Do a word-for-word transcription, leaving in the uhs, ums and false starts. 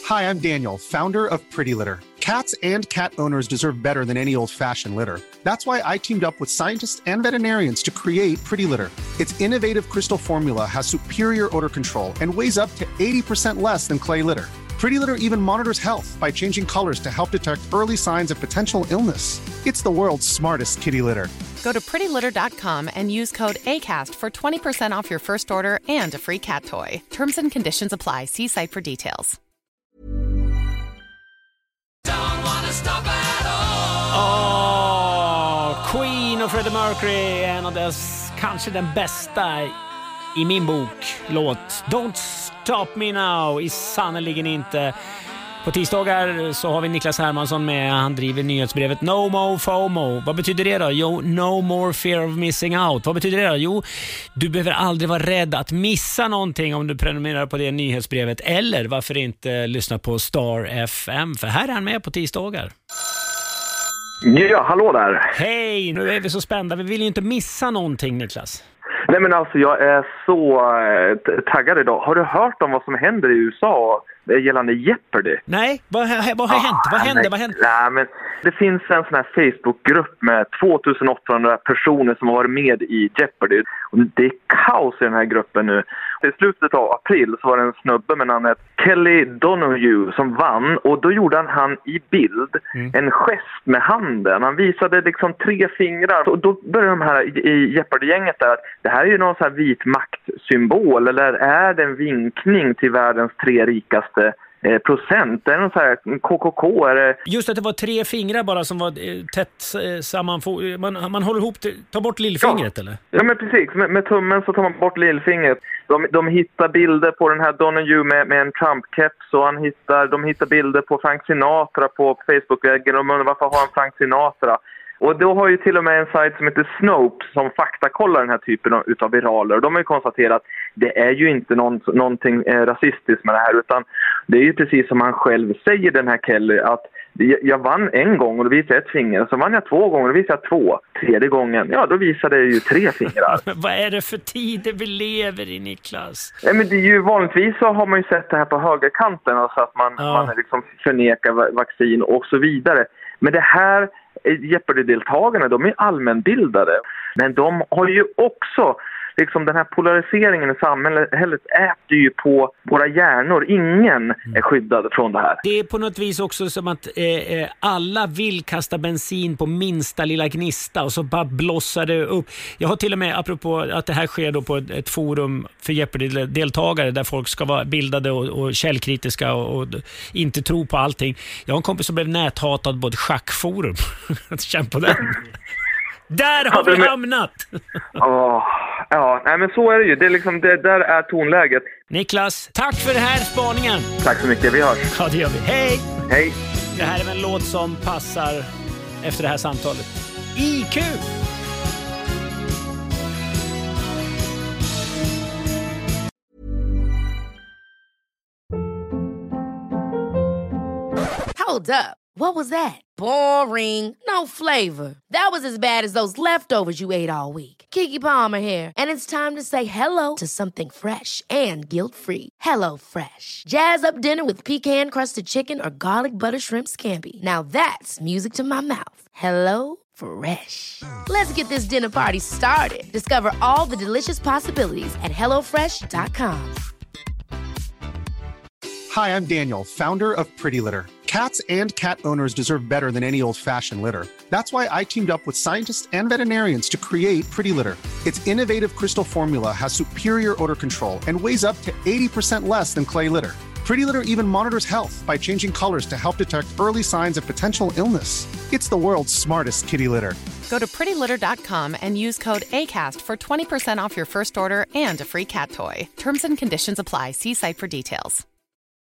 Hi, I'm Daniel, founder of Pretty Litter. Cats and cat owners deserve better than any old-fashioned litter. That's why I teamed up with scientists and veterinarians to create Pretty Litter. Its innovative crystal formula has superior odor control and weighs up to eighty percent less than clay litter. Pretty Litter even monitors health by changing colors to help detect early signs of potential illness. It's the world's smartest kitty litter. Go to pretty litter dot com and use code ACAST for twenty percent off your first order and a free cat toy. Terms and conditions apply. See site for details. Oh, Queen och Freddie Mercury, en av dess kanske den bästa i min bok låt. Don't Stop Me Now är sannoliken inte. På tisdagar så har vi Niklas Hermansson med. Han driver nyhetsbrevet No More FOMO. Vad betyder det då? Jo, No More Fear of Missing Out. Vad betyder det då? Jo, du behöver aldrig vara rädd att missa någonting om du prenumererar på det nyhetsbrevet. Eller varför inte lyssna på Star F M? För här är han med på tisdagar. Ja, hallå där. Hej, nu är vi så spända. Vi vill ju inte missa någonting, Niklas. Nej men alltså jag är så äh, taggad idag. Har du hört om vad som händer i U S A gällande Jeopardy? Nej, vad, vad har hänt? Vad hände? Nej, vad hände? Nej, men det finns en sån här Facebookgrupp med tvåtusen åttahundra personer som har varit med i Jeopardy. Och det är kaos i den här gruppen nu. I slutet av april så var det en snubbe med namnet Kelly Donahue som vann. Och då gjorde han, han i bild mm. en gest med handen. Han visade liksom tre fingrar. Och då började de här i, i Jeopardy-gänget där att det här är ju någon sån här vit maktsymbol. Eller är det en vinkning till världens tre rikaste Eh, procent? Det är någon så här K K K. Är det... Just att det var tre fingrar bara som var eh, tätt eh, samman. Man, man håller ihop, ta bort lillfingret ja. eller? Ja men precis, med, med tummen så tar man bort lillfingret. De, de hittar bilder på den här Donahue med, med en Trump-keps och han hittar, de hittar bilder på Frank Sinatra på Facebook-väggen och de undrar varför har han Frank Sinatra? Och då har ju till och med en sajt som heter Snopes som faktakollar den här typen av utav viraler. Och de har ju konstaterat att det är ju inte någon, någonting eh, rasistiskt med det här. Utan det är ju precis som han själv säger, den här Kelly, att jag vann en gång och då visade jag ett finger. Så vann jag två gånger och då visade jag två. Tredje gången, ja då visade jag ju tre fingrar. Vad är det för tider vi lever i, Niklas? Nej, men det är ju vanligtvis så har man ju sett det här på högerkanten. Alltså att man, ja. man liksom förnekar vaccin och så vidare. Men det här Jeopardy-deltagarna, de är allmänbildade. Men de har ju också, liksom den här polariseringen i samhället äter ju på våra hjärnor. Ingen är skyddad från det här. Det är på något vis också som att eh, alla vill kasta bensin på minsta lilla gnista och så bara blossar det upp. Jag har till och med, apropå att det här sker då på ett, ett forum för Jeopardy-deltagare där folk ska vara bildade och, och källkritiska och, och inte tro på allting. Jag har en kompis som blev näthatad på ett schackforum. Känn på den. Där har vi hamnat! Oh, ja, nej, men så är det ju. Det är liksom, det där är tonläget. Niklas, tack för den här spaningen. Tack så mycket, vi hörs. Ja, det gör vi. Hej! Hej! Det här är en låt som passar efter det här samtalet. I Q! Hold up. What was that? Boring. No flavor. That was as bad as those leftovers you ate all week. Keke Palmer here, and it's time to say hello to something fresh and guilt-free. Hello Fresh. Jazz up dinner with pecan-crusted chicken or garlic butter shrimp scampi. Now that's music to my mouth. Hello Fresh. Let's get this dinner party started. Discover all the delicious possibilities at hello fresh dot com. Hi, I'm Daniel, founder of Pretty Litter. Cats and cat owners deserve better than any old-fashioned litter. That's why I teamed up with scientists and veterinarians to create Pretty Litter. Its innovative crystal formula has superior odor control and weighs up to eighty percent less than clay litter. Pretty Litter even monitors health by changing colors to help detect early signs of potential illness. It's the world's smartest kitty litter. Go to pretty litter dot com and use code ACAST for twenty percent off your first order and a free cat toy. Terms and conditions apply. See site for details.